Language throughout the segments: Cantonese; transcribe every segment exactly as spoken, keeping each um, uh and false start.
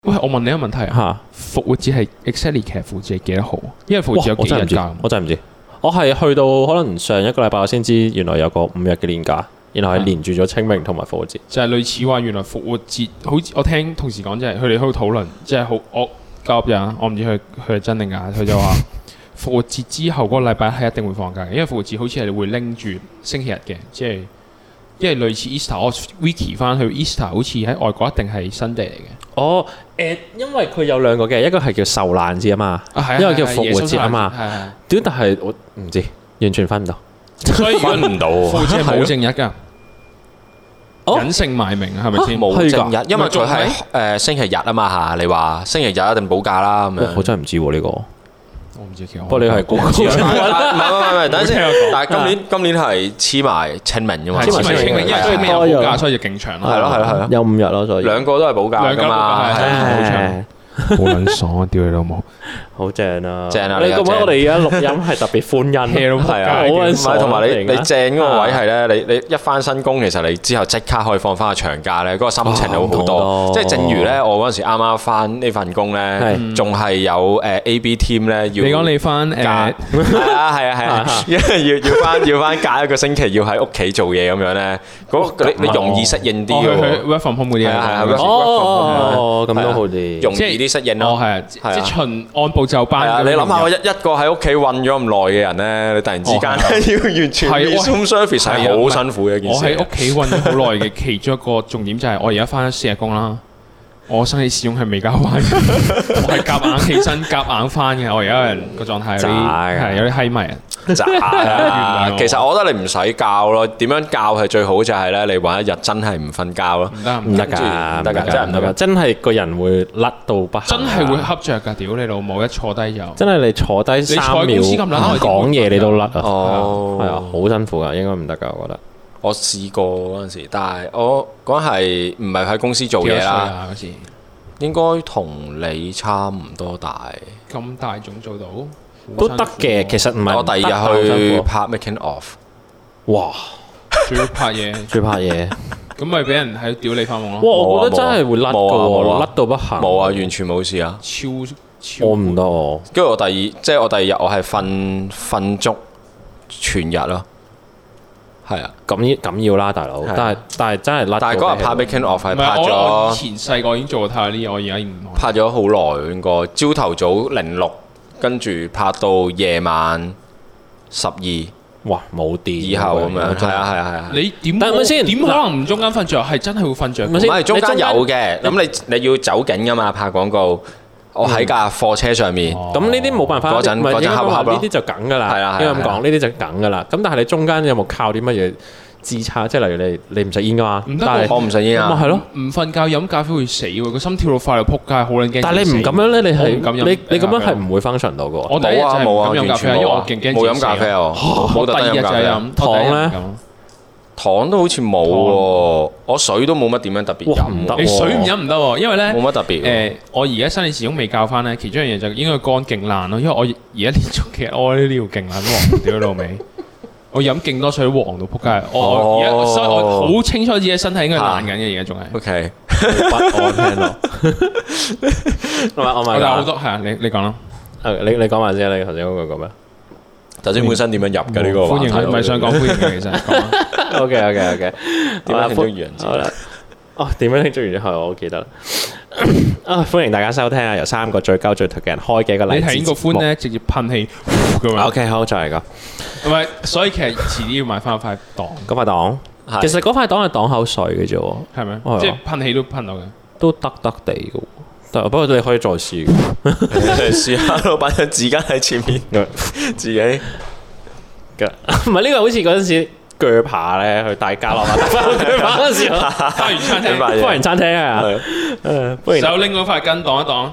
喂，我問你一個問題啊，復活節係 exactly 其實復活節係幾多號？因為復活節有幾日假？ 我真係唔知，我係去到可能上一個禮拜我先知，原來有個五日嘅年假，然後係連住咗清明同埋復活節。 就係類似話，原來復活節好似我聽同事講，即係佢哋喺度討論，即係好我交入人，我唔知佢佢係真定假，佢就話復活節之後嗰個禮拜係一定會放假嘅，因為復活節好似係會拎住星期日嘅，即係因為類似 Easter， 我 wiki 翻去 Easter 好似喺外國一定係新地嚟嘅。 哦，誒，因為佢有兩個嘅，一個係叫受難節啊嘛， 啊一個叫復活節啊嘛。 係係。 點？但係我唔知，完全分唔到。 所以分唔到。 復活節冇正日㗎。隱姓埋名係咪先？ 冇正日，因為佢係誒星期日啊嘛嚇。你話星期日一定補假啦咁樣。 我真係唔知喎呢個。 我唔知其實。 不過你係估唔知。 唔係唔係唔係，等陣先。但係今年今年係黐埋清明㗎嘛。 黐埋清明，因為清明有補假，所以就勁長咯。 係咯係咯係咯。 有五日咯，所以。 兩個都係補假㗎嘛。 係好長。好撚爽啊！屌你老母， 好正啊！ 正啊！ 你覺唔覺得我哋而家錄音係特別歡欣？ 係啊， 好撚爽。 同埋你你正嗰個位係咧，你你一翻新工，其實你之後即刻可以放翻個長假咧，嗰個心情好好多。即係正如咧，我嗰陣時啱啱翻呢份工咧，仲係有誒 A B team 咧要。你講你翻誒？係啊係啊係啊，因為要要翻要翻隔一個星期要喺屋企做嘢咁樣咧，嗰你你容易適應啲嘅喎。 work from home 嗰啲係啊係啊。 哦，咁都好啲， 容易啲適應咯。 哦係啊，即係循按部就班。 你諗下，我一一個喺屋企韞咗咁耐嘅人咧，你突然之間要完全 resume service 係好辛苦嘅一件事。 我喺屋企韞咗好耐嘅其中一個重點就係我而家翻咗四日工啦。我生理使用係未交翻，我係夾硬起身夾硬翻嘅。我而家人個狀態有啲係有啲閪迷啊！ 渣啊！其實我覺得你唔使教咯，點樣教係最好就係咧，你揾一日真係唔瞓覺咯。 唔得唔得㗎，唔得㗎，真係唔得㗎，真係個人會甩到不行。 真係會瞌着㗎！屌你老母，一坐低就真係你坐低三秒講嘢你都甩啊！ 哦， 係啊，好辛苦㗎，應該唔得㗎，我覺得。 我試過嗰陣時，但係我嗰陣係唔係喺公司做嘢啦？ 嗰時應該同你差唔多大。 咁大仲做到？ 都得嘅，其實唔係。 我第二日去拍 making of， 哇！ 仲要拍嘢， 仲要拍嘢， 咁咪俾人喺屌你發夢咯。 哇！我覺得真係會甩㗎喎，甩到不行。 冇啊，完全冇事啊。 超超。 我唔得喎。 跟住我第二，即係我第二日，我係瞓瞓足全日咯。係啊， 咁咁要啦，大佬。但係但係真係甩。 但係嗰日拍 making of 係拍咗。 我以前細個已經做過太呢啲，我而家唔拍咗好耐，應該朝頭早零六。跟住拍到夜晚十二， 哇冇電以後咁樣，係啊係啊係啊。 你點？ 但係咪先？ 點可能唔中間瞓着？係真係會瞓着。 唔係中間有嘅，咁你你要走景㗎嘛？拍廣告，我喺架貨車上面。 咁呢啲冇辦法。 嗰陣嗰陣合合咯。 呢啲就梗㗎啦。 係啊係啊。應該咁講，呢啲就梗㗎啦。咁但係你中間有冇靠啲乜嘢支撐？即係例如你你唔食煙㗎嘛？ 唔得， 我唔食煙啊。 咪係咯，唔瞓覺飲咖啡會死喎，個心跳到快到撲街，好撚驚。 但係你唔咁樣咧，你係你你咁樣係唔會 function 到㗎喎。 我第一日就係冇啊飲咖啡，因為我勁驚冇飲咖啡啊。 我第二日就係飲糖咧， 糖都好似冇喎。我水都冇乜點樣特別飲。 唔得， 你水唔飲唔得喎，因為咧冇乜特別。 誒，我而家生理時鐘未教翻咧，其中一樣嘢就應該肝勁爛咯，因為我而家連續其實我呢條勁爛黃屌老味。我飲勁多水都黃到撲街，我而家所以我好清楚自己身體應該爛緊嘅，而家仲係。 O K， 不安聽到。我咪我咪。 有好多係啊，你你講啦。 誒，你你講埋先，你頭先嗰個講咩？ 頭先本身點樣入嘅呢個？ 歡迎，唔係想講歡迎嘅，其實。 O K O K O K。 點樣慶祝愚人節？ 好啦。哦，點樣慶祝愚人節？我記得啦。啊！歡迎大家收聽啊，由三個最鳩最頹嘅人開嘅一個勵志節目。 你睇個歡咧，直接噴氣咁樣。 O K，好，再嚟個。 唔係，所以其實遲啲要買翻塊擋。 嗰塊擋，其實嗰塊擋係擋口水嘅啫喎。 係咪？即係噴氣都噴到嘅。都得得地嘅喎。但不過你可以再試。 你試下，老闆有紙巾喺前面，自己嘅。 唔係呢個好似嗰陣時。鋸扒咧，去大家樂啊！鋸扒嗰陣時， 花園餐廳， 花園餐廳啊！誒， 手拎嗰塊巾擋一擋。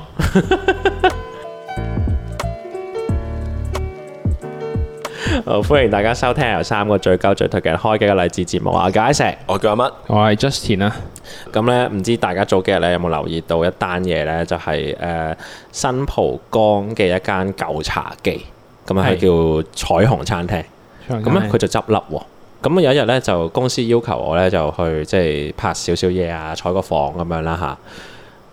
好，歡迎大家收聽由三個最鳩最頹嘅人開嘅一個勵志節目啊！解釋， 我叫阿乜， 我係 Justin 啊。 咁咧，唔知大家早幾日咧有冇留意到一單嘢咧？就係誒新蒲崗嘅一間舊茶記，咁啊係叫彩虹餐廳。咁咧佢就執笠喎。咁有一日咧，就公司要求我咧就去即係拍少少嘢啊，採個訪咁樣啦嚇。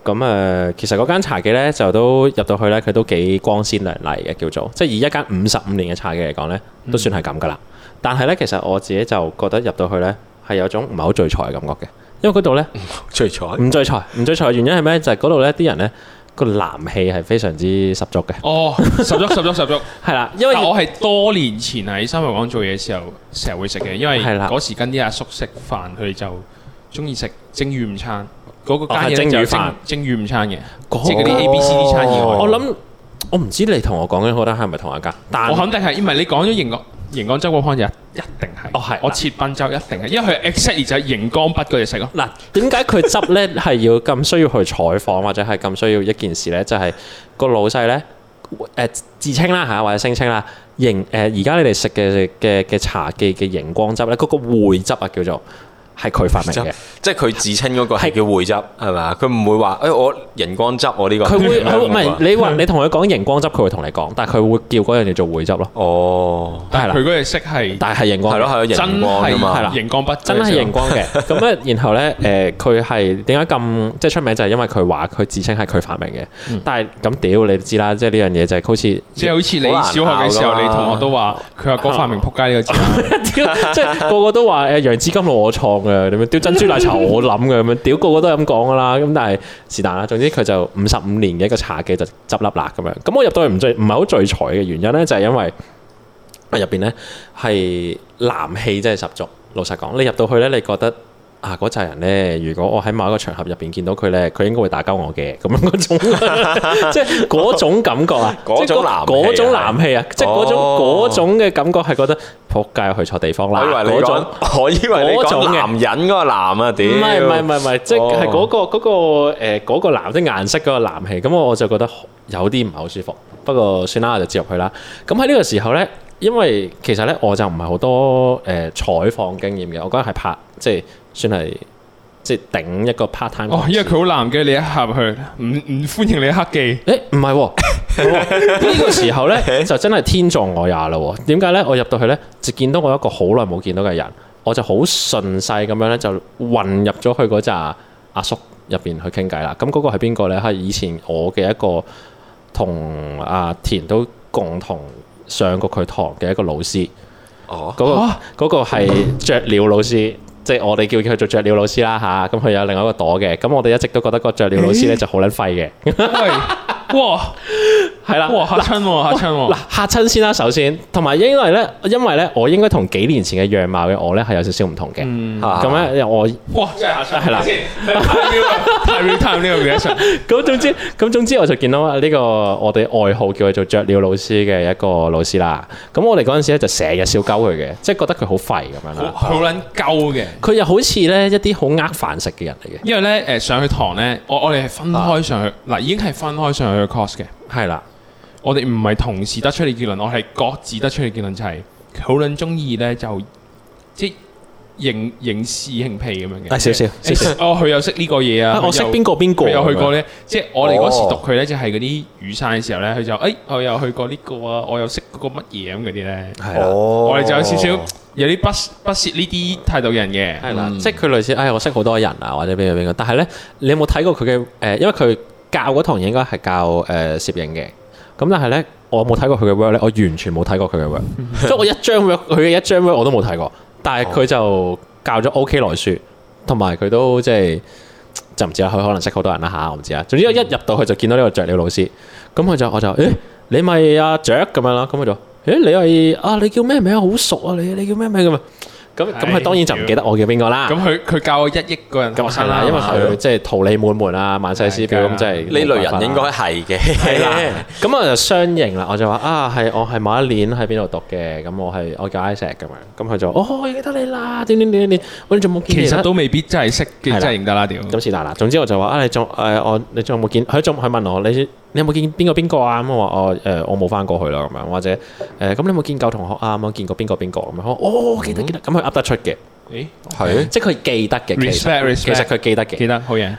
咁誒、呃，其實嗰間茶記咧就都入到去咧，佢都幾光鮮亮麗嘅，叫做即係以一間五十五年嘅茶記嚟講咧，都算係咁噶啦。嗯、但係咧，其實我自己就覺得入到去咧係有種唔係好聚財嘅感覺嘅，因為嗰度咧聚財唔聚財唔聚財嘅原因係咩？就係嗰度咧啲人咧個男氣係非常之十足嘅。 哦，十足十足十足， 係啦，因為我係多年前喺新蒲崗做嘢嘅時候，成日會食嘅，因為嗰時跟啲阿叔食飯，佢哋就中意食蒸魚午餐。嗰個間嘢就蒸蒸魚午餐嘅，即係嗰啲 A B C D 餐以外。 我諗我唔知你同我講緊嗰單係咪同一間，但我肯定係，因為你講咗熒光熒光汁嗰間就一定係。 哦係， 我切賓州一定係，因為佢 exactly 就係熒光筆嗰隻色咯。 嗱，點解佢執咧係要咁需要去採訪或者係咁需要一件事咧？就係個老細咧誒自稱啦嚇，或者聲稱啦，熒誒而家你哋食嘅嘅嘅茶記嘅熒光汁咧，嗰個匯汁啊叫做。係佢發明嘅， 即係佢自稱嗰個係叫匯汁係咪啊？佢唔會話誒我熒光汁我呢個。 佢會佢唔係你話你同佢講熒光汁，佢會同你講，但係佢會叫嗰樣嘢做匯汁咯。 哦， 但係佢嗰隻色係， 但係熒光係咯係咯熒光㗎嘛， 係啦熒光筆真係熒光嘅。咁咧，然後咧誒，佢係點解咁即係出名？就係因為佢話佢自稱係佢發明嘅。但係咁屌你知啦，即係呢樣嘢就係好似即係好似你小學嘅時候，你同學都話佢阿哥發明仆街呢個字， 即係個個都話誒楊枝甘露我創嘅，點樣屌珍珠奶茶我諗嘅咁樣，屌個個都係咁講噶啦，咁但係是但啦。總之佢就五十五年嘅一個茶記就執笠啦咁樣。咁我入到去唔聚唔係好聚財嘅原因咧，就係因為入邊咧係男氣真係十足。老實講，你入到去咧，你覺得啊嗰扎人咧，如果我喺某一個場合入邊見到佢咧，佢應該會打交我嘅咁樣嗰種，即係嗰種感覺啊， 嗰種男嗰種男氣啊，即係嗰種嗰種嘅感覺係覺得仆街去錯地方啦。 嗰種我以為你講男人嗰個男啊，屌！ 唔係唔係唔係唔係，即係嗰個嗰個誒嗰個藍色顏色嗰個男氣，咁我就覺得有啲唔係好舒服。不過算啦，我就接入去啦。咁喺呢個時候咧，因為其實咧我就唔係好多誒採訪經驗嘅，我覺得係拍即係。算係即係頂一個 part time。哦， 因為佢好男嘅，你一合去，唔唔歡迎你黑記。 誒唔係喎，呢個時候咧就真係天助我也啦喎。點解咧？我入到去咧就見到我一個好耐冇見到嘅人，我就好順勢咁樣咧就混入咗去嗰紮阿叔入邊去傾偈啦。咁嗰個係邊個咧？係以前我嘅一個同阿田都共同上過佢堂嘅一個老師。哦，嗰、嗰個嗰個係雀鳥老師。即係我哋叫佢做雀鳥老師啦吓，咁佢有另外一個朵嘅，咁我哋一直都覺得個雀鳥老師咧就好撚廢嘅。哇，係啦， 哇嚇親喎嚇親喎， 嗱嚇親先啦，首先，同埋因為咧，因為咧，我應該同幾年前嘅樣貌嘅我咧係有少少唔同嘅，咁咧我哇真係嚇親，係啦，太 real time 呢個 reaction。咁總之，咁總之我就見到呢個我哋外號叫佢做雀鳥老師嘅一個老師啦。咁我哋嗰陣時咧就成日笑鳩佢嘅，即係覺得佢好廢咁樣啦， 好撚鳩嘅。 佢又好似咧一啲好呃飯食嘅人嚟嘅。 因為咧誒上去堂咧，我我哋係分開上去，嗱已經係分開上去。嘅 course 嘅係啦， 我哋唔係同時得出嚟結論，我係各自得出嚟結論，就係好撚中意咧，就即係認認屎認屁咁樣嘅。 啊少少少少， 哦佢又識呢個嘢啊， 我識邊個邊個， 佢有去過咧，即係我哋嗰時讀佢咧，就係嗰啲雨傘嘅時候咧，佢就誒我又去過呢個啊，我又識嗰個乜嘢咁嗰啲咧，係啦，我哋就有少少有啲不不屑呢啲態度嘅人嘅， 係啦，即係佢類似誒我識好多人啊，或者邊個邊個，但係咧你有冇睇過佢嘅誒？因為佢教嗰堂應該係教誒攝影嘅，咁但係咧我冇睇過佢嘅 work 咧，我完全冇睇過佢嘅 work，即係我一張 work 佢嘅一張 work 我都冇睇過，但係佢就教咗 OK 來書，同埋佢都即係就唔知啦，佢可能識好多人啦嚇，我唔知啊。總之一入到去就見到呢個雀鳥老師，咁佢就我就誒你咪阿雀咁樣啦，咁佢就誒你係啊你叫咩名啊？好熟啊你你叫咩名咁啊？咁咁佢當然就唔記得我叫邊個啦。咁佢佢教我一億個人學生啦， 因為佢即係桃李滿門啊，萬世師表咁，即係呢類人應該係嘅。 係啦，咁我就相認啦，我就話啊係我係某一年喺邊度讀嘅，咁我係我叫 Isaac 咁樣，咁佢就哦我記得你啦，點點點點，我哋仲冇見。 其實都未必真係識嘅，真係認得啦屌。 咁是但啦，總之我就話啊你仲誒我你仲有冇見？佢仲佢問我你你有冇見邊個邊個啊？咁我話我誒我冇翻過去啦咁樣，或者誒咁你有冇見舊同學啊？咁見過邊個邊個咁樣？哦記得記得，咁佢噏得出嘅。 誒係，即係佢記得嘅，其實其實佢記得嘅， 記得好嘢。 咁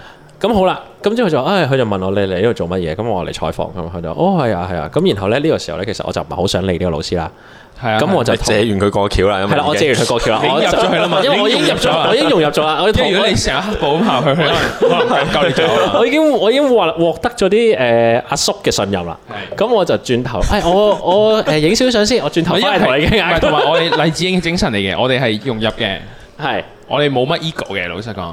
咁好啦，咁之後就誒，佢就問我你嚟呢度做乜嘢？咁我嚟採訪咁，佢就哦係啊係啊。咁然後咧呢個時候咧，其實我就唔係好想理呢個老師啦。係啊，咁我就借完佢過橋啦。 係啦，我借完佢過橋啦， 我入咗去啦嘛， 因為我已經入咗，我已經融入咗啦。 即係如果你成日黑暴咁行去，可能可能夠你走啦。 我已經我已經獲獲得咗啲誒阿叔嘅信任啦。咁我就轉頭，誒我我誒影少相先，我轉頭翻嚟同你傾。 同埋我哋勵志鷹嘅精神嚟嘅，我哋係融入嘅。 係。 我哋冇乜 ego 嘅，老實講。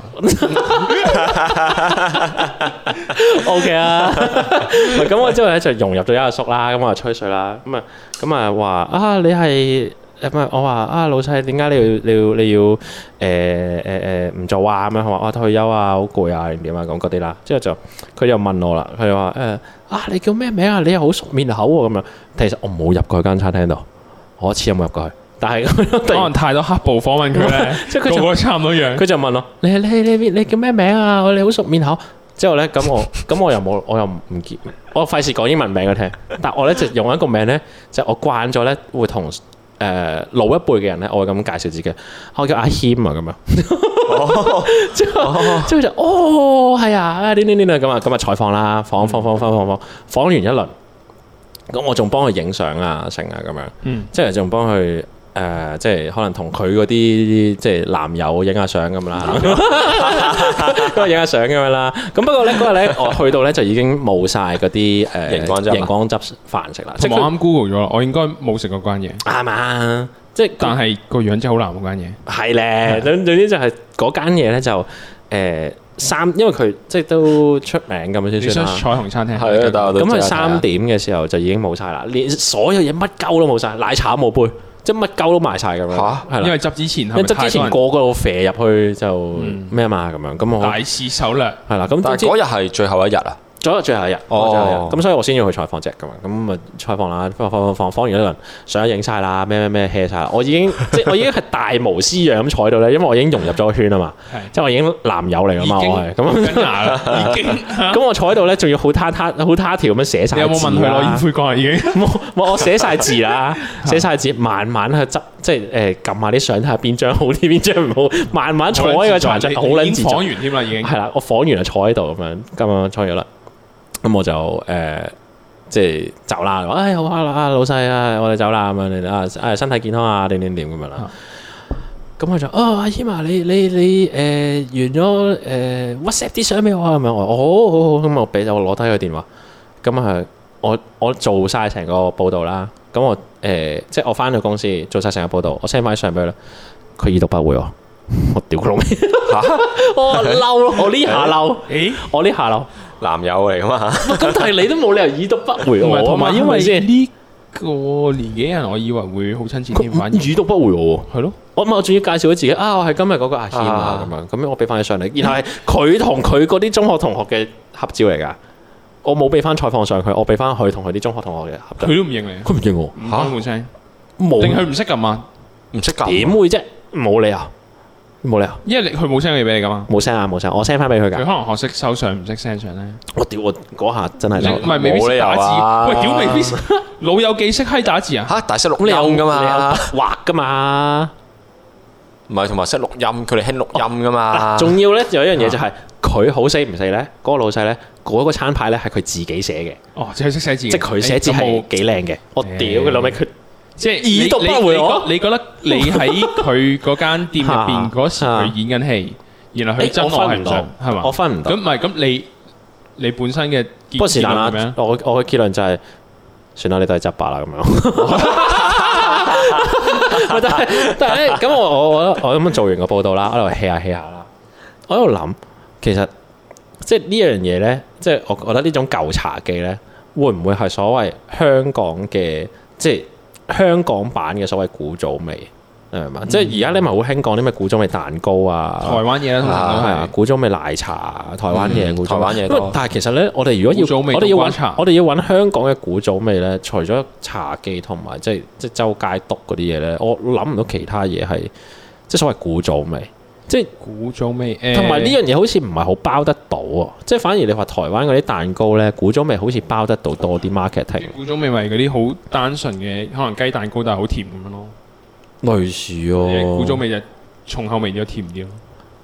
O K 啊，咁我之後咧就融入咗一阿叔啦，咁我就吹水啦，咁啊咁啊話啊你係誒唔係我話啊老細點解你要你要你要誒誒誒唔做啊咁樣，佢話我退休啊好攰啊點點啊咁嗰啲啦，之後就佢又問我啦，佢就話誒啊你叫咩名啊？你又好熟面口喎咁樣，其實我冇入過去間餐廳度，我一次有冇入過去？但係可能太多黑暴訪問佢咧，即係佢個個差唔多樣。 佢就問我：你你你你你叫咩名啊？我哋好熟面口。之後咧，咁我咁我又冇，我又唔見，我費事講英文名佢聽。但我咧就用一個名咧，就我慣咗咧，會同誒老一輩嘅人咧，我會咁介紹自己。我叫阿謙啊咁樣。之後之後就哦係啊，點點點啊咁啊咁啊採訪啦，訪訪訪訪訪訪訪完一輪，咁我仲幫佢影相啊成啊咁樣。嗯，即係仲幫佢。誒、呃，即係可能同佢嗰啲即係男友影下相咁啦，咁啊影下相咁樣啦。咁不過咧嗰日咧，我去到咧就已經冇晒嗰啲誒熒光汁熒光汁飯食啦。即係我啱 Google 咗啦，我應該冇食過間嘢。 啱啊，即係但係個樣真係好難嗰間嘢。 係咧，總總之就係嗰間嘢咧就誒。呃三，因為佢即係都出名咁樣先算啦。 彩虹餐廳係啊，咁佢三點嘅時候就已經冇晒啦，連所有嘢乜鳩都冇晒，奶茶冇杯，即係乜鳩都賣晒咁樣。嚇，係啦， 因為執之前，因為執之前個個都肥入去就咩嘛咁樣，咁我大肆手掠係啦。咁但係嗰日係最後一日啊。 咗最後一日，哦，咁所以我先要去採訪隻㗎嘛，咁咪採訪啦，訪訪訪訪完一輪，相影晒啦，咩咩咩 hea 晒啦，我已經即係我已經係大模斯樣咁坐喺度咧，因為我已經融入咗個圈啊嘛，即係我已經男友嚟㗎嘛，我係咁，已經，咁我坐喺度咧，仲要好他他好他條咁樣寫晒字。 你有冇問佢攞煙灰缸啊？已經冇，我寫晒字啦，寫晒字，慢慢去執，即係誒撳下啲相睇下邊張好啲，邊張唔好，慢慢坐喺個茶桌，好撚自在。 訪完添啦，已經係啦，我訪完就坐喺度咁樣，咁樣坐咗啦。咁我就誒、呃，即係走啦。誒、哎、好啊，老細啊，我哋走啦咁樣，你啊誒身體健康啊，點點點咁樣啦。咁佢就哦，阿謙啊，你你你誒、呃、完咗誒、呃、WhatsApp 啲相俾我啊，咁樣我好好好，咁我俾我攞低佢電話。咁啊，我我做晒成個報道啦。咁我誒、呃、即係我翻到公司做晒成個報道，我 send 翻啲相俾佢啦。佢已讀不回喎，我屌佢老味嚇！我嬲咯，我呢下嬲，誒，我呢下嬲。 男友嚟噶嘛？ 咁但係你都冇理由已讀不回我， 同埋因為呢個年紀人，我以為會好親切添，反而已讀不回我喎。 係咯， 我我仲要介紹咗自己啊，我係今日嗰個阿謙啊咁樣，咁樣我俾翻你上嚟，然後係佢同佢嗰啲中學同學嘅合照嚟㗎。我冇俾翻採訪上佢，我俾翻佢同佢啲中學同學嘅合照。 佢都唔認你， 佢唔認我嚇冇聲， 冇定佢唔識撳啊？ 唔識撳點會啫？冇理由。冇理由， 因為佢冇 send 嘢俾你噶嘛。 冇 send 啊，冇 send，我 send 翻俾佢㗎。 佢可能學識收相，唔識 send 相咧。 我屌我嗰下真係唔係未必識打字。喂，屌未必老友記識閪打字啊？ 嚇，大識錄音㗎嘛， 畫㗎嘛。 唔係同埋識錄音，佢哋興錄音㗎嘛。 仲要咧有一樣嘢就係佢好死唔死咧，嗰個老細咧嗰個餐牌咧係佢自己寫嘅。 哦，即係識寫字。 即係佢寫字係幾靚嘅。我屌佢老味佢。 即係已讀不回我。你覺得你喺佢嗰間店入邊嗰時佢演緊戲，然後佢真我係唔信，係嘛？ 我分唔到。 咁唔係咁你你本身嘅不過是但啦。我我嘅結論就係算啦，你都係執把啦咁樣。但係但係咧，咁我我我我咁樣做完個報道啦，我喺度 hea 下 hea 下啦。我喺度諗，其實即係呢樣嘢咧，即係我覺得呢種舊茶記咧，會唔會係所謂香港嘅即係？香港版嘅所謂古早味，係嘛？嗯、即係而家你咪好興講啲咩古早味蛋糕啊， 台灣嘢啦，通常都係啊， 古早味奶茶，台灣嘢， 嗯、 古早台灣嘢多。 但係其實咧，我哋如果要，我哋要揾，我哋要揾香港嘅古早味咧，除咗茶記同埋即係即係周街篤嗰啲嘢咧，我諗唔到其他嘢係即係所謂古早味。即係古早味， 同埋呢樣嘢好似唔係好包得到啊！即係反而你話台灣嗰啲蛋糕咧，古早味好似包得到多啲 marketing。 古早味咪嗰啲好單純嘅，可能雞蛋糕但係好甜咁樣咯。 類似哦。 古早味就重口味啲，甜啲咯。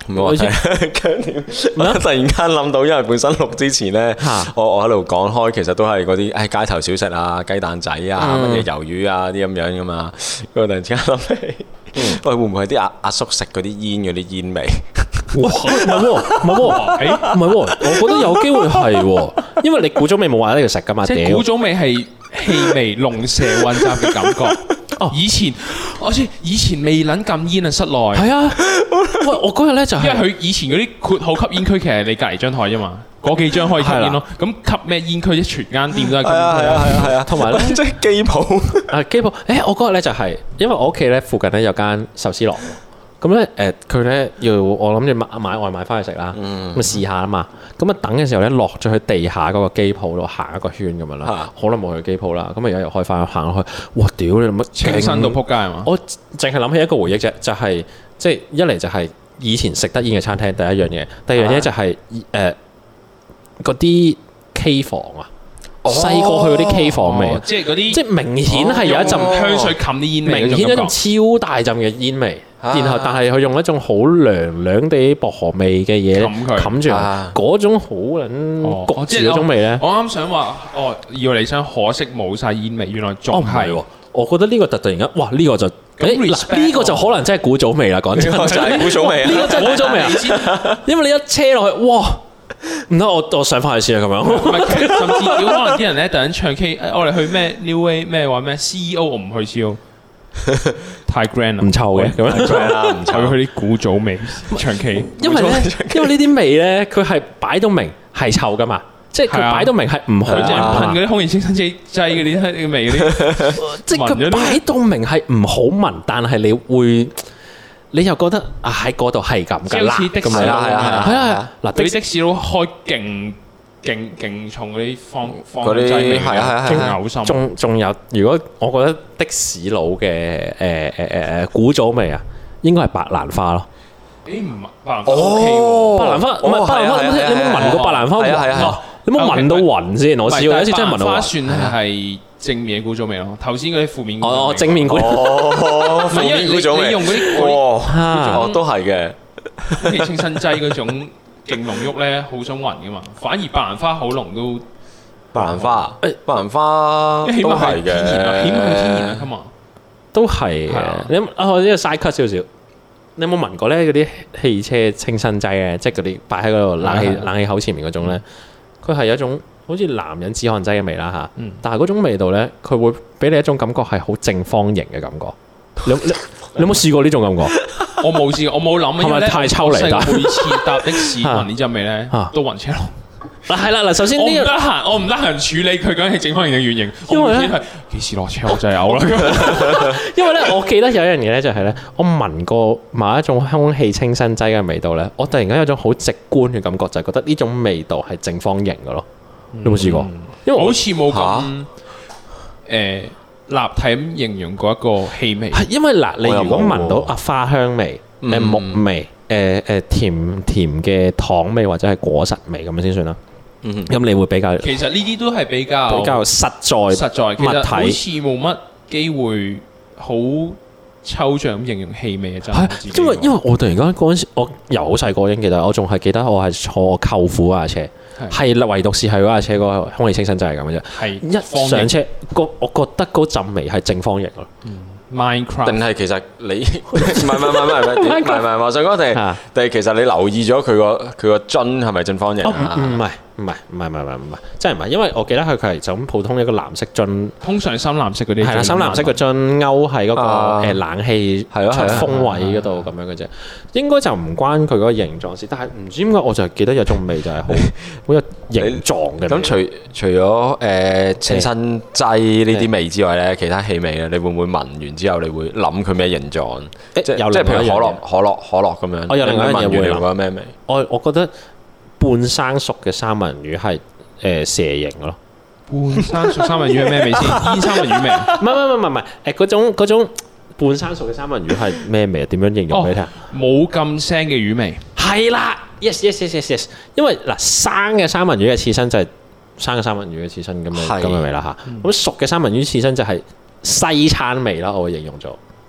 我突然間諗到，因為本身錄之前咧，我我喺度講開，其實都係嗰啲誒街頭小食啊、雞蛋仔啊、乜嘢魷魚啊啲咁樣噶嘛。我突然之間諗起，喂，會唔會係啲阿阿叔食嗰啲煙嗰啲煙味？ 哇！唔係喎，唔係喎，誒唔係喎，我覺得有機會係喎，因為你古早味冇話喺度食噶嘛。 即係古早味係氣味龍蛇混雜嘅感覺。哦，以前我知以前未撚禁煙啊，室內係啊。喂，我嗰日咧就係因為佢以前嗰啲括號吸煙區，其實你隔離張台啫嘛，嗰幾張可以吸煙咯。咁吸咩煙區？全間店都係。係啊係啊係啊係啊，同埋咧即係機鋪啊機鋪。誒，我嗰日咧就係因為我屋企咧附近咧有間壽司郎。咁咧誒，佢咧要我諗住買買外賣翻去食啦，咁啊試下啊嘛。咁啊等嘅時候咧，落咗去地下嗰個機鋪度行一個圈咁樣啦。好耐冇去機鋪啦，咁啊而家又開翻行落去，哇！屌你乜清新到撲街係嘛？ 我淨係諗起一個回憶啫，就係即係一嚟就係以前食得煙嘅餐廳第一樣嘢，第二樣嘢就係誒嗰啲 K 房啊。細個去嗰啲 K 房味， 即係嗰啲， 即係明顯係有一陣香水冚啲煙味， 明顯一種超大陣嘅煙味。然後但係佢用一種好涼涼地薄荷味嘅嘢冚住，嗰種好撚焗住嗰種味咧。 我啱想話，哦，要你想可惜冇晒煙味，原來仲係喎。 我覺得呢個突突然間，哇！呢個就誒嗱，呢個就可能真係古早味啦。講真， 就係古早味， 呢個真係古早味啊！因為你一車落去，哇！唔得，我我上翻去先啊，咁樣。 甚至有可能啲人咧突然唱 K， 我哋去咩 New Way 咩話咩 C E O， 我唔去 C E O， 太 grand 啦， 唔臭嘅咁樣， 唔臭。去啲古早味唱 K， 因為咧，因為呢啲味咧，佢係擺到明係臭噶嘛，即係佢擺到明係唔好。佢淨係噴嗰啲空氣清新劑劑嗰啲味嗰啲， 即係佢擺到明係唔好聞，但係你會。你又覺得啊喺嗰度係咁㗎啦，咁係啊係啊係啊嗱， 啲的士佬開勁勁勁重嗰啲放放嗰啲係係啊係係嘔心。 仲仲有，如果我覺得的士佬嘅誒誒誒誒古早味啊，應該係白蘭花咯。 誒唔白蘭花 OK 喎， 白蘭花唔係白蘭花，你有冇聞過白蘭花聞？你有冇聞到暈先？我試過有一次真係聞到暈。白蘭花算係正面嘅古早味咯，頭先嗰啲負面哦正面古哦負面古早味， 你用嗰啲哦都係嘅， 空氣清新劑嗰種勁濃郁咧，好想暈噶嘛。反而白蘭花好濃都白蘭花，誒白蘭花都係嘅， 起碼係天然啊，咁啊都係嘅。你啊我呢個 side cut 少少，你有冇聞過咧嗰啲汽車清新劑咧？即係嗰啲擺喺嗰度冷氣冷氣口前面嗰種咧，佢係有一種。好似男人止汗劑嘅味啦嚇，嗯、但係嗰種味道咧，佢會俾你一種感覺係好正方形嘅感覺。你你你有冇試過呢種感覺？ 我冇試過，我冇諗。 係咪太抽離？ 但係每次搭的士聞呢陣味咧，都暈車咯。 嗱係啦嗱，首先呢個我唔得閒，我唔得閒處理佢究竟係正方形定圓形。因為咧幾時落車我就係嘔啦。 因為咧，我記得有一樣嘢咧，就係咧，我聞過某一種空氣清新劑嘅味道咧，我突然間有種好直觀嘅感覺，就係覺得呢種味道係正方形嘅咯。你有冇試過？因為好似冇咁誒立體咁形容過一個氣味。係因為嗱，你如果聞到啊花香味、誒木味、誒誒甜甜嘅糖味或者係果實味咁樣先算啦。咁你會比較其實呢啲都係比較比較實在實在物體，其實好似冇乜機會好抽象咁形容氣味嘅真係。 因為因為我突然間嗰陣時，我由好細個已經記得，我仲係記得我係坐我舅父嗰架車。係唯獨是係嗰架車個空氣清新劑係咁嘅啫。係一上車，個我覺得嗰陣味係正方形咯。 Minecraft 定係其實你唔係唔係唔係唔係唔係唔係我想講定定係其實你留意咗佢個佢個樽係咪正方形啊？ 唔係唔係唔係唔係唔係，真係唔係，因為我記得佢佢係就咁普通一個藍色樽， 通常深藍色嗰啲係啦，深藍色嘅樽勾喺嗰個誒冷氣出風位嗰度咁樣嘅啫，應該就唔關佢嗰個形狀事，但係唔知點解我就係記得有種味就係好好有形狀嘅。咁除除咗誒清新劑呢啲味之外咧，其他氣味咧，你會唔會聞完之後你會諗佢咩形狀？即即係譬如可樂可樂可樂咁樣。 我有另外一樣嘢會諗， 覺得咩味？ 我我覺得。半生熟嘅三文魚係誒蛇形嘅咯。 半生熟三文魚係咩味先？煙三文魚味？ 唔係唔係唔係唔係誒嗰種嗰種半生熟嘅三文魚係咩味啊？點樣形容俾你聽？ 冇咁腥嘅魚味。 係啦 ，yes yes yes yes yes。因為嗱生嘅三文魚嘅刺身就係生嘅三文魚嘅刺身咁嘅咁嘅味啦嚇。咁熟嘅三文魚刺身就係西餐味啦，我會形容做。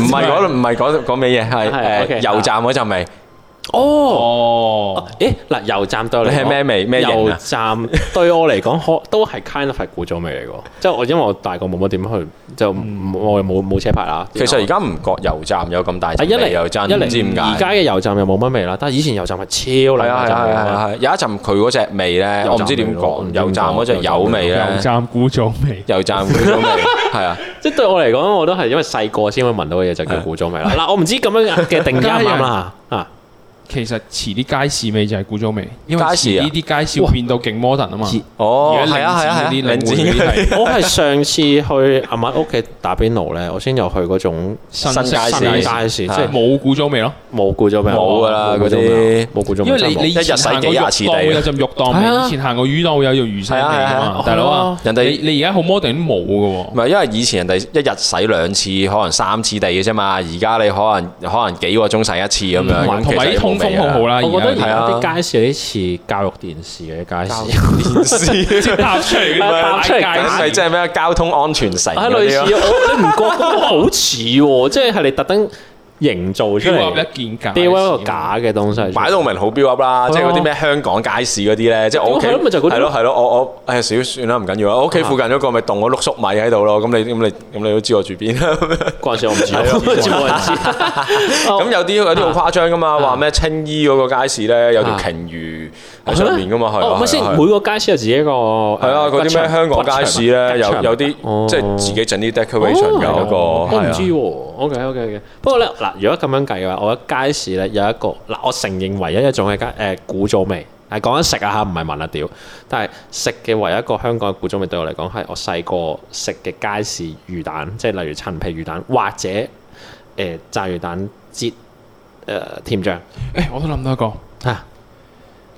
唔係嗰唔係嗰嗰味嘢，係誒油站嗰陣味。 哦，誒嗱，油站對我嚟講係咩味？咩型啊？ 油站對我嚟講，可都係 kind of 係古早味嚟嘅。即係我因為我大個冇乜點去，就我又冇冇車牌啦。 其實而家唔覺油站有咁大陣味，又真唔知點解。 而家嘅油站又冇乜味啦，但係以前油站係超靚嘅。係係係係， 有一陣佢嗰隻味咧，我唔知點講。油站嗰隻油味咧， 油站古早味， 油站古早味係啊。 即係對我嚟講，我都係因為細個先會聞到嘅嘢就叫古早味啦。嗱，我唔知咁樣嘅定義啱唔啱啦嚇。 其實遲啲街市味就係古早味，因為街市呢啲街市會變到勁 modern 啊嘛。 哦，係啊係啊係啊，領展我係上次去阿媽屋企打邊爐咧，我先有去嗰種新街市， 街市即係冇古早味咯， 冇古早味， 冇噶啦嗰啲冇古早味。 因為你你以前行過肉檔有陣肉檔味，以前行過魚檔有條魚腥味啊嘛，大佬啊， 人哋你而家好 modern 都冇噶喎。 唔係因為以前人哋一日洗兩次，可能三次地嘅啫嘛，而家你可能可能幾個鐘洗一次咁樣， 同埋啲通風好好啦。 我覺得而家啲街市有啲似教育電視嘅街市， 電視即係搭出嚟嘅， 搭出嚟係即係咩交通安全城嗰啲咯。 類似我你唔覺得好似喎？即係係你特登營造出嚟一件假， 標一個假嘅東西， 擺到明好標 up 啦，即係嗰啲咩香港街市嗰啲咧，即係我屋企係咯係咯，我我誒少算啦，唔緊要啦，我屋企附近嗰個咪凍咗碌粟米喺度咯，咁你咁你咁你都知我住邊啦。 嗰陣時我唔知，冇人知。 咁有啲有啲好誇張噶嘛，話咩青衣嗰個街市咧有條鯨魚喺上面噶嘛，係啊。 咪先每個街市有自己一個係啊，嗰啲咩香港街市咧有有啲即係自己整啲 decoration 嘅嗰個， 我唔知喎。OK OK OK，不過咧嗱。如果咁樣計嘅話，我覺得街市咧有一個嗱，我承認唯一一種嘅街誒古早味，係講緊食啊嚇，唔係聞啊屌。但係食嘅唯一一個香港嘅古早味對我嚟講係我細個食嘅街市魚蛋，即係例如陳皮魚蛋或者誒、呃、炸魚蛋擠誒甜醬。 誒，我都諗到一個啊，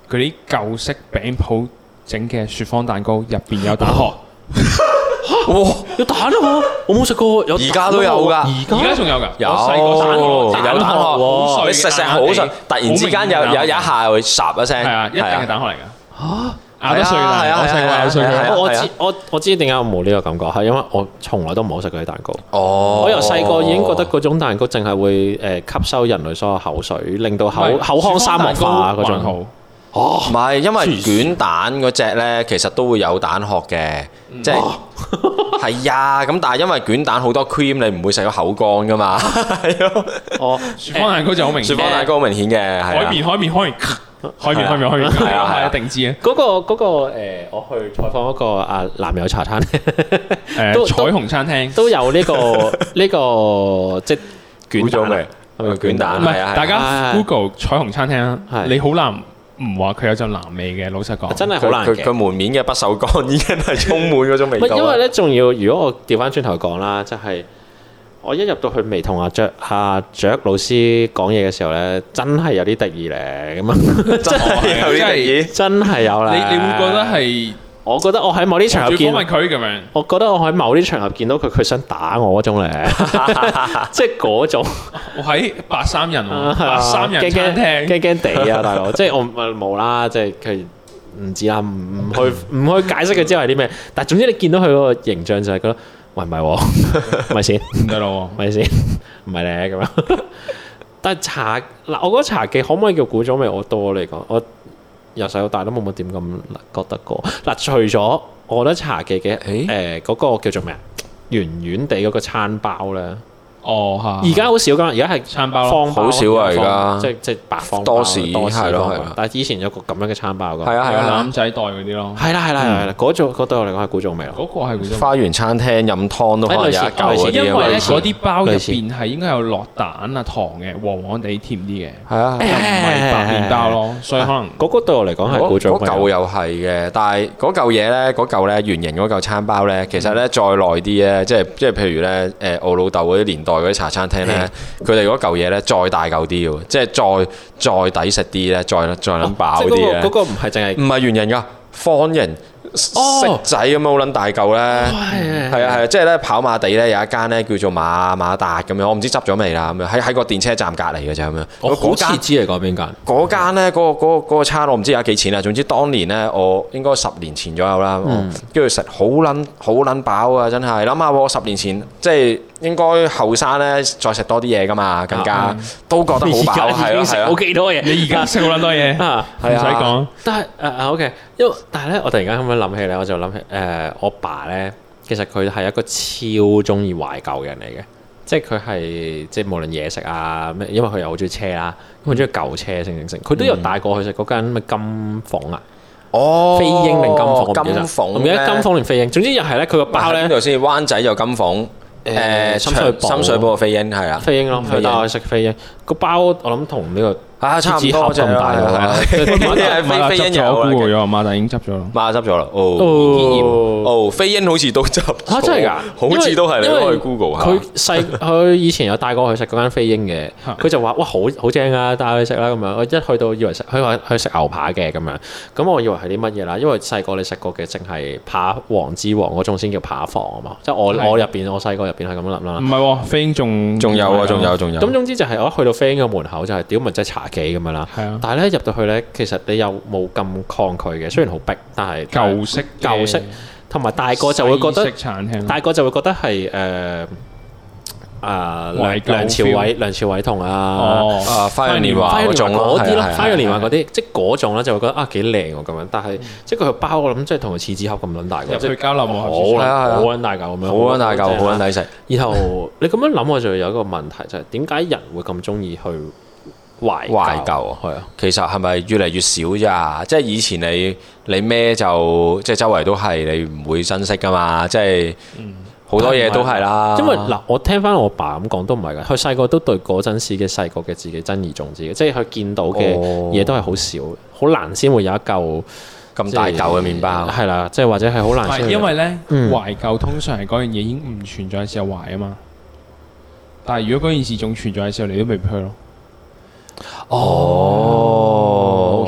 嗰啲舊式餅鋪整嘅雪芳蛋糕，入邊有蛋殼。 哇！有蛋啊！我冇食過，有而家都有㗎， 而家仲有㗎， 有有蛋殼，你食食好順，突然之間有有一下會霎一聲， 係啊，一定係蛋殼嚟㗎。 嚇！ 咬得碎啦， 係啊， 我細個咬碎佢。 我知我我知點解我冇呢個感覺，係因為我從來都唔好食嗰啲蛋糕。 哦， 我由細個已經覺得嗰種蛋糕淨係會誒吸收人類所有口水，令到口口腔沙漠化嗰種。 哦，唔係，因為捲蛋嗰隻咧，其實都會有蛋殼嘅，即係係啊。咁但係因為捲蛋好多 cream，你唔會食到口乾噶嘛。係咯。哦， 雪芳蛋糕就好明顯。 雪芳蛋糕好明顯嘅，係啊。 海綿海綿海綿。開面開面開面，係啊係啊，定知啊！ 嗰個嗰個誒，我去採訪嗰個啊男友茶餐廳， 誒彩虹餐廳都有呢個呢個即係捲咗未？係咪捲蛋？ 唔係，大家 Google 彩虹餐廳，你好難唔話佢有陣藍味嘅。老實講， 真係好難嘅。 佢門面嘅不鏽鋼已經係充滿嗰種味道。 因為咧，仲要如果我調翻轉頭講啦，即係。我一入到去未同阿雀阿雀老師講嘢嘅時候咧，真係有啲敵意咧，咁啊， 真係有啲敵意， 真係有啦。 你你會覺得係？ 我覺得我喺某啲場合見， 訪問佢咁樣。 我覺得我喺某啲場合見到佢，佢想打我嗰種咧，即係嗰種。 我喺白衫人喎，白衫人餐廳， 驚驚地啊，大佬！即係我冇啦，即係佢唔知啦，唔唔去唔去解釋佢之後係啲咩，但係總之你見到佢嗰個形象就係覺得。喂，唔係喎，咪先唔得咯， 咪先唔係咧咁樣。但係茶嗱，我覺得茶記可唔可以叫古早味？我多嚟講，我由細到大都冇乜點咁覺得過。嗱，除咗我覺得茶記嘅誒嗰個叫做咩啊，圓圓地嗰個餐包咧。 哦，嚇！ 而家好少㗎，而家係餐包方包， 好少啊！而家即即白方包， 多士係咯係咯。 但係以前有個咁樣嘅餐包㗎。 係啊係啊， 攬仔袋嗰啲咯。 係啦係啦係啦，嗰種嗰對我嚟講係古早味咯。 嗰個係古早味。 花園餐廳飲湯都可能有一嚿嗰啲， 因為咧嗰啲包入邊係應該有落蛋啊糖嘅，黃黃地甜啲嘅。 係啊， 就唔係白麵包咯，所以可能嗰個對我嚟講係古早味。 嗰嚿又係嘅，但係嗰嚿嘢咧，嗰嚿咧圓形嗰嚿餐包咧，其實咧再耐啲咧，即係即係譬如咧誒我老豆嗰啲年代嗰啲茶餐廳咧。佢哋嗰嚿嘢咧再大嚿啲喎，即係再再抵食啲咧，再再諗飽啲咧。 嗰個唔係淨係唔係圓形㗎，方形色仔咁樣好撚大嚿咧。係啊係啊，即係咧跑馬地咧有一間咧叫做馬馬達咁樣，我唔知執咗未啦咁樣，喺喺個電車站隔離嘅啫咁樣。 我好似知你講邊間？ 嗰間咧嗰個嗰個嗰個餐我唔知而家幾錢啦。總之當年咧我應該十年前左右啦，跟住食好撚好撚飽啊！真係諗下喎，十年前即係。應該後生咧，再食多啲嘢噶嘛，更加都覺得好飽，係咯係咯。 好幾多嘢， 你而家食好撚多嘢啊，唔使講。 但係誒誒 OK，因為但係咧，我突然間咁樣諗起咧，我就諗起誒我爸咧，其實佢係一個超中意懷舊嘅人嚟嘅，即係佢係即係無論嘢食啊咩，因為佢又好中意車啦，好中意舊車，成成成，佢都有帶過去食嗰間咩金鳳啊。 哦， 飛鷹定金鳳？ 金鳳， 我唔記得金鳳定飛鷹。總之又係咧，佢個包咧。 邊度先？灣仔就金鳳。誒深水埗，深水埗個飛鷹係啊， 飛鷹咯，佢帶我食飛鷹個包，我諗同呢個啊差唔多咁大喎，係啊，飛飛鷹有啦， 咗馬達已經執咗啦， 馬達執咗啦，哦，哦，飛鷹好似都執啊，真係㗎， 好似都係你可以 Google 下。 佢細佢以前有帶過我去食嗰間飛鷹嘅，佢就話哇好好正啊，帶我去食啦咁樣。我一去到以為食，佢話去食牛扒嘅咁樣，咁我以為係啲乜嘢啦？因為細個你食過嘅淨係扒王之王嗰種先叫扒房啊嘛，即係我我入邊我細個入邊係咁樣諗啦。 唔係喎，飛鷹仲仲有啊，仲有仲有。 咁總之就係我一去到飛鷹嘅門口就係屌咪即係茶記咁樣啦。 係啊。 但係咧入到去咧，其實你又冇咁抗拒嘅，雖然好逼，但係舊式舊式，同埋大個就會覺得餐廳， 大個就會覺得係誒啊梁梁朝偉、梁朝偉同啊啊花樣年華嗰種嗰啲咯，花樣年華嗰啲，即係嗰種咧就會覺得啊幾靚喎咁樣，但係即係佢個包我諗即係同個廁紙盒咁撚大個， 入去交流冇好好撚大嚿咁樣， 好撚大嚿，好撚抵食。 然後你咁樣諗，我就有一個問題就係點解人會咁中意去懷懷舊啊？係啊，其實係咪越嚟越少咋？即係以前你你咩就即係周圍都係，你唔會珍惜噶嘛？即係好多嘢都係啦。 因為嗱，我聽翻我爸咁講都唔係㗎，佢細個都對嗰陣時嘅細個嘅自己珍而重之嘅，即係佢見到嘅嘢都係好少，好難先會有一嚿咁大嚿嘅麵包。 係啦，即係或者係好難。 因為咧懷舊通常係嗰樣嘢已經唔存在嘅時候懷啊嘛。但係如果嗰件事仲存在嘅時候，你都未必去咯。 哦，OK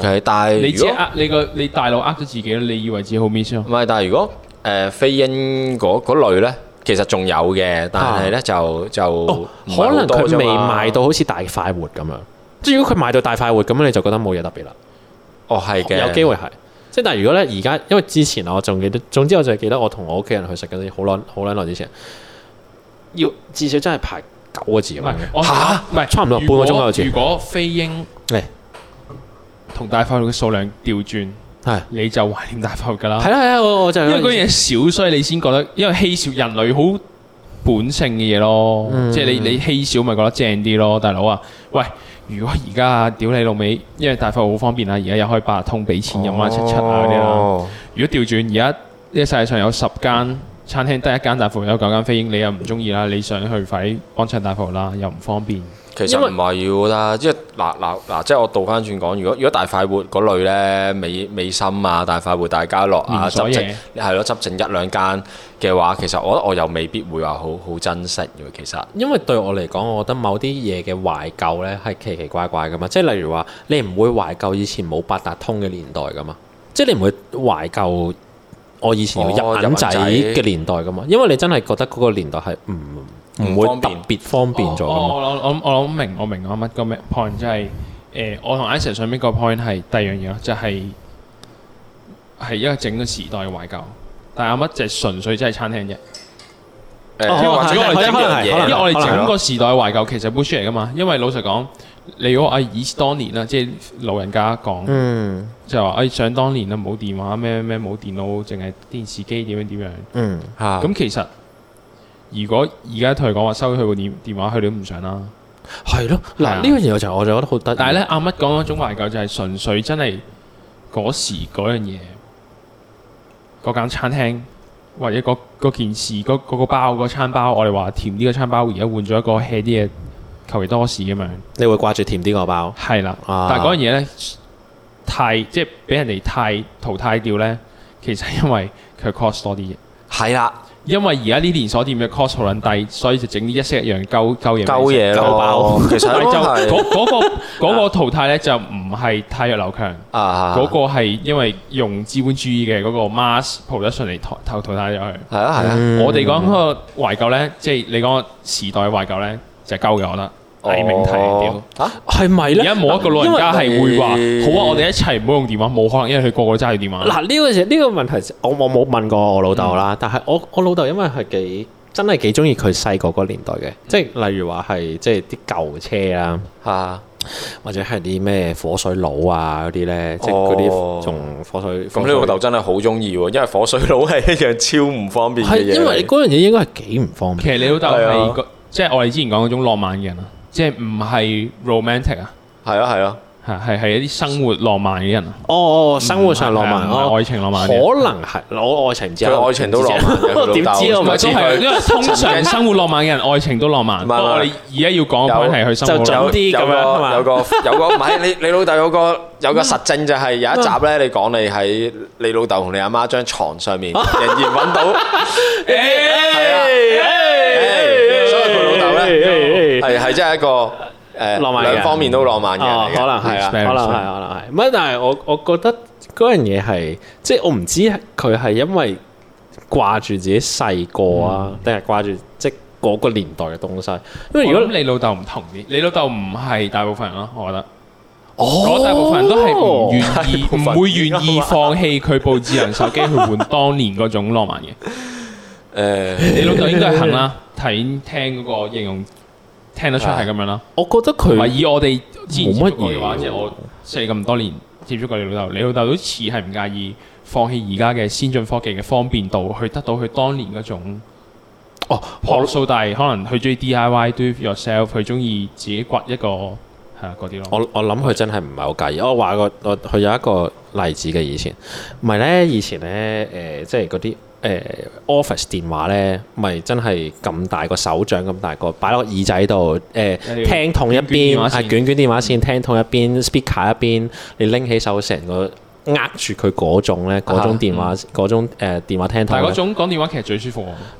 OK， 但係你只呃你個你大腦呃咗自己咯，你以為自己好 miss 咯。 唔係，但係如果誒飛鷹嗰嗰類咧，其實仲有嘅，但係咧就就可能佢未賣到好似大快活咁樣。即係如果佢賣到大快活咁樣，你就覺得冇嘢特別啦。 哦，係嘅， 有機會係。即係但係如果咧而家，因為之前我仲記得，總之我就係記得我同我屋企人去食嗰啲好耐好耐耐之前，要至少真係排九個字咁樣嘅。 嚇，唔係差唔多半個鐘頭字。 如果飛鷹係同大快活嘅數量調轉， 係你就懷念大快活㗎啦。 係啦係啦，我我就因為嗰樣嘢少，所以你先覺得，因為稀少人類好本性嘅嘢咯， 嗯、 即係你你稀少咪覺得正啲咯，大佬啊！喂，如果而家啊屌你老味，因為大快活好方便啊，而家又可以八達通俾錢飲啊七七啊嗰啲啦。如果調轉而家呢個世界上有十間餐廳，得一間大快活有九間飛鷹，你又唔中意啦，你想去快啲幫襯大快活啦，又唔方便。 其實唔係要啦，即係嗱嗱嗱，即係我倒翻轉講，如果如果大快活嗰類咧，美美心啊、大快活、大家樂啊，執剩係咯，執剩一兩間嘅話，其實我覺得我又未必會話好好珍惜嘅。其實因為對我嚟講，我覺得某啲嘢嘅懷舊咧係奇奇怪怪噶嘛，即係例如話你唔會懷舊以前冇八達通嘅年代噶嘛，即係你唔會懷舊我以前要入銀仔嘅年代噶嘛，因為你真係覺得嗰個年代係唔唔會特別方便咗。 我我我我我明我明我乜個咩 point， 即係誒我同 Isaac 上邊個 point 係第二樣嘢咯，就係係一個整個時代嘅懷舊，但係阿乜就係純粹真係餐廳啫。誒，或者我哋整樣嘢，因為我哋整個時代嘅懷舊其實 bullshit 嚟噶嘛。因為老實講，你如果啊以當年啦，即係老人家講，嗯、就話誒想當年啦冇電話咩咩冇電腦，淨係電視機點樣點樣。嗯，嚇。咁其實如果而家同佢講話收佢部電電話，佢哋都唔想啦。係咯，嗱呢樣嘢就我就覺得好得意。但係咧，阿乜講嗰種懷舊就係純粹真係嗰時嗰樣嘢，嗰間餐廳或者嗰件事，嗰、嗰個包嗰、嗰個、餐包，我哋話甜啲嘅餐包，而家換咗一個 hea 啲嘅求其多士咁樣。你會掛住甜啲個包？係啦，啊、但係嗰樣嘢咧太即係俾人哋太淘汰掉咧，其實因為佢 cost 多啲嘢。係啦。因為而家啲連鎖店嘅 cost 好撚低，所以就整啲一式一樣鳩鳩嘢。鳩嘢咯，鳩包。其實就嗰嗰個嗰個淘汰咧，就唔係太弱流強。啊嗰個係因為用資本主義嘅嗰個 mass production 嚟淘淘汰咗佢。係啊係啊。我哋講嗰個懷舊咧，即係你講個時代懷舊咧，就係鳩嘅，我覺得。偽命題屌嚇係咪咧？而家冇一個老人家係會話好啊！我哋一齊唔好用電話，冇可能，因為佢個個都揸住電話。嗱呢個時呢個問題，我我冇問過我老豆啦。但係我我老豆因為係幾真係幾中意佢細個嗰個年代嘅，即係例如話係即係啲舊車啊嚇，或者係啲咩火水佬啊嗰啲咧，即係嗰啲仲火水。咁你老豆真係好中意喎，因為火水佬係一樣超唔方便嘅嘢。係因為嗰樣嘢應該係幾唔方便。其實你老豆係個即係我哋之前講嗰種浪漫嘅人啊。即係唔係 romantic 啊？係啊係啊，係係係一啲生活浪漫嘅人啊！哦哦，生活上浪漫，愛情浪漫，可能係我愛情唔知啊，佢愛情都浪漫嘅，點知啊？唔係都係，因為通常生活浪漫嘅人，愛情都浪漫。不過我哋而家要講嘅係佢生活浪漫啲咁樣，有個有個唔係你你老豆有個有個實證就係有一集咧，你講你喺你老豆同你阿媽張床上面仍然揾到，係啊，所以佢老豆咧。係係真係一個誒浪漫嘅，兩方面都浪漫嘅，可能係啊，可能係，可能係。唔係，但係我我覺得嗰樣嘢係，即係我唔知佢係因為掛住自己細個啊，定係掛住即係嗰個年代嘅東西。因為如果你老豆唔同啲，你老豆唔係大部分人咯，我覺得。哦，大部分人都係唔願意，唔會願意放棄佢部智能手機去換當年嗰種浪漫嘅。誒，你老豆應該係肯啦，睇聽嗰個形容。聽得出係咁樣啦，我覺得佢唔係以我哋之前冇乜嘢嘅話，即係我識你咁多年接觸過你老豆，你老豆都似係唔介意放棄而家嘅先進科技嘅方便度，去得到佢當年嗰種哦樸素，但係可能佢中意 D I Y，do it yourself， 佢中意自己掘一個係啊嗰啲咯。我我諗佢真係唔係好介意。我話個我佢有一個例子嘅以前，唔係咧以前咧誒、呃，即係嗰啲。誒 office 電話咧，咪真係咁大個手掌咁大個，擺落個耳仔度，誒聽筒一邊係捲捲電話線，聽筒一邊 speaker 一邊，你拎起手成個握住佢嗰種咧，嗰種電話嗰種誒電話聽筒。但係嗰種講電話其實最舒服喎。嗱，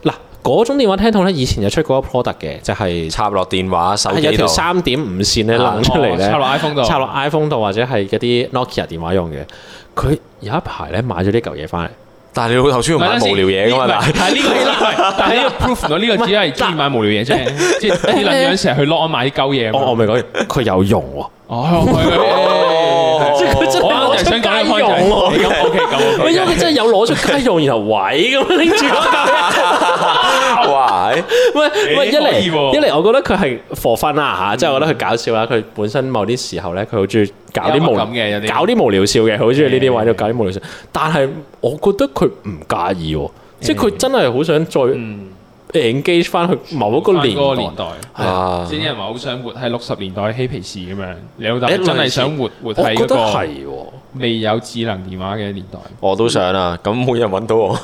嗰種電話聽筒咧，以前有出過一個 product 嘅，就係插落電話手機度， 有條三點五線咧掕出嚟咧， 插落 iPhone 度， 插落 iPhone 度或者係嗰啲 Nokia 電話用嘅。佢有一排咧買咗呢嚿嘢翻嚟。 但係你老頭先要買無聊嘢噶嘛？ 但係呢個，但係呢個 proof 到呢個只係中意買無聊嘢啫，即係啲撚樣成日去 lock 買啲鳩嘢。 我我未講完，佢有用喎。 哦，即係佢真係攞出街用喎。咁 OK 咁 OK。 因為佢真係有攞出街用，然後位咁拎住嗰嚿嘢。哇！喂喂，一嚟一嚟，我覺得佢係 for fun 啦嚇，即係我覺得佢搞笑啦。佢本身某啲時候咧，佢好中意搞啲無搞啲無聊笑嘅，好中意呢啲位度搞啲無聊笑。但係我覺得佢唔介意喎，即係佢真係好想再 engage 翻去某一個年代。 啊！啲人話好想活喺六十年代嬉皮士咁樣，你老豆真係想活活喺嗰個未有智能電話嘅年代。 我都想啊，咁冇人揾到我。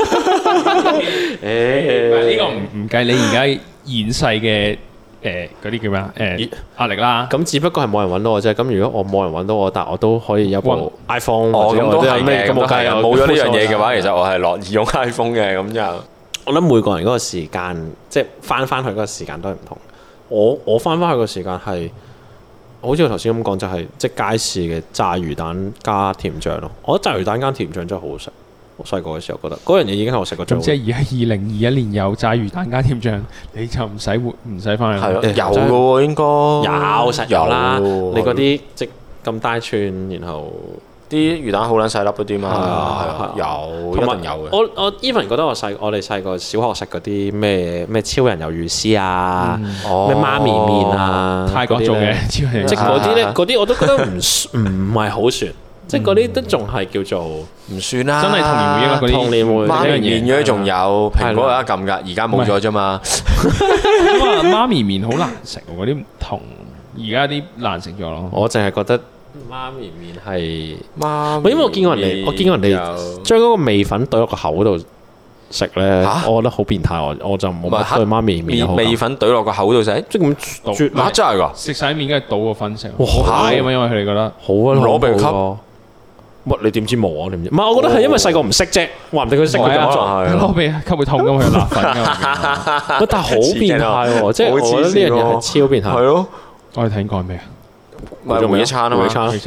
誒，呢個唔唔計你而家現世嘅誒嗰啲叫咩啊？誒壓力啦。 咁只不過係冇人揾到我啫。咁如果我冇人揾到我，但我都可以有部 iPhone。 哦，咁都係嘅。咁冇計冇咗呢樣嘢嘅話，其實我係樂意用 iPhone 嘅。咁就我諗每個人嗰個時間，即係翻翻去嗰個時間都係唔同。我我翻翻去個時間係，好似我頭先咁講，就係即係街市嘅炸魚蛋加甜醬咯。我覺得炸魚蛋加甜醬真係好好食。我細個嘅時候覺得嗰樣嘢已經係我食過最好。 即係而家二零二一年有炸魚蛋加甜醬，你就唔使活唔使翻去。 係咯，有嘅喎應該。 有實有啦，你嗰啲即咁大串，然後啲魚蛋好撚細粒嗰啲嘛。係啊，有一定有嘅。 我我 even 覺得我細我哋細個小學食嗰啲咩咩超人魷魚絲啊，咩媽咪麵啊， 泰國做嘅超人， 即係嗰啲咧，嗰啲我都覺得唔唔係好算。即係嗰啲都仲係叫做唔算啦， 真係童年回憶啦。嗰啲童年回憶媽咪麵嗰啲仲有，蘋果有得撳㗎，而家冇咗啫嘛。 因為媽咪麵好難食喎，嗰啲唔同而家啲難食咗咯。 我淨係覺得媽咪麵係媽， 因為我見過人哋，我見過人哋將嗰個味粉懟落個口度食咧，我覺得好變態。我我就冇乜對媽咪麵味粉懟落個口度食， 即係咁啜嚇真係㗎！ 食晒麵跟住倒個粉食，好大啊嘛，因為佢哋覺得好啊，攞鼻吸。乜你點知冇啊？你唔知？唔係，我覺得係因為細個唔識啫，話唔定佢識佢咁做。 攞鼻吸會痛㗎嘛，佢辣粉㗎嘛。 但係好變態喎，即係我覺得呢樣嘢係超變態。 係咯， 我哋睇過咩啊？ 咪回憶餐啊嘛， 回憶餐。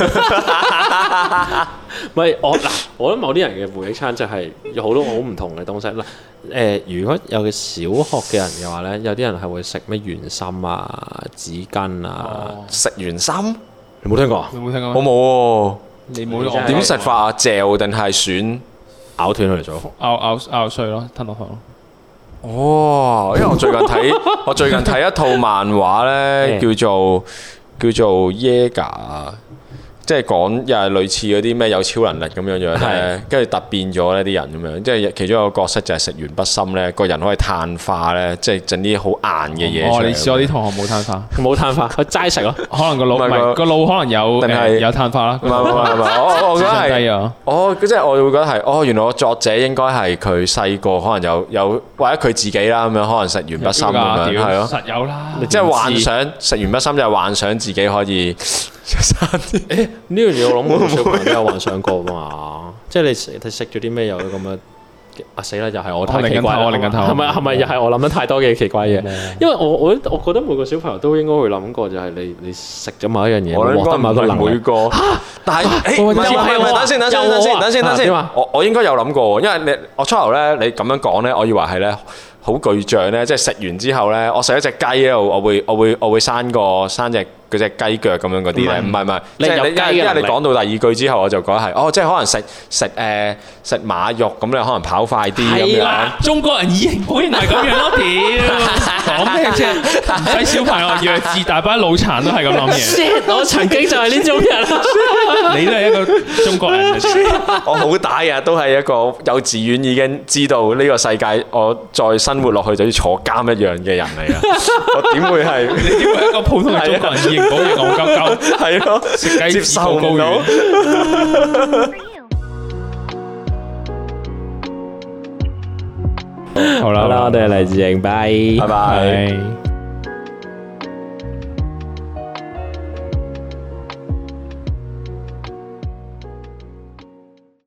唔係我嗱，我覺得某啲人嘅回憶餐就係有好多好唔同嘅東西嗱。誒，如果有嘅小學嘅人嘅話咧，有啲人係會食咩圓心啊、紙巾啊， 食圓心。 你冇聽過？ 你冇聽過？ 我冇喎。 你冇點食法啊？嚼定係選咬斷佢嚟做？ 咬咬咬碎咯，吞落去咯。 哦，因為我最近睇我最近睇一套漫畫咧，叫做叫做 Yaga，即係講又係類似嗰啲咩有超能力咁樣樣咧，跟住突變咗呢啲人咁樣，即係其中一個角色就係食完筆芯咧，個人可以碳化咧，即係整啲好硬嘅嘢。 哦，你試我啲同學冇碳化， 冇碳化，佢齋食咯。 可能個腦唔係個腦可能有定係有碳化啦。唔係唔係唔係，我我覺得係哦，即係我會覺得係哦，原來個作者應該係佢細個可能有有或者佢自己啦咁樣，可能食完筆芯咁樣係咯， 實有啦。 即係幻想食完筆芯就係幻想自己可以。 誒呢樣嘢我諗我同小朋友都有幻想過嘛，即係你食你食咗啲咩有咁樣啊死啦！又係我太奇怪， 我另一頭， 係咪係咪又係我諗得太多嘅奇怪嘢？因為我我我覺得每個小朋友都應該會諗過，就係你你食咗某一樣嘢，獲得某個能力。每個但係誒唔係唔係等先等先等先等先等先，我我應該有諗過，因為你我初頭咧你咁樣講咧，我以為係咧。好巨象咧，即係食完之後咧，我食一隻雞咧，我會我會我會生個生隻嗰隻雞腳咁樣嗰啲咧，唔係唔係，即係你因為你講到第二句之後，我就覺得係哦，即係可能食食誒食馬肉咁，你可能跑快啲咁樣。 中國人以形補形係咁樣咯，屌講咩啫？唔使小朋友弱智，大班腦殘都係咁諗嘢。 我曾經就係呢種人， 你都係一個中國人。 我好大啊，都係一個幼稚園已經知道呢個世界，我再生活落去就要坐監一樣嘅人嚟啊！我點會係？ 你點會一個普通嘅中國人以形補形戇鳩鳩？ 係咯， 食雞接受唔到。 好啦，我哋嚟自營，拜拜拜。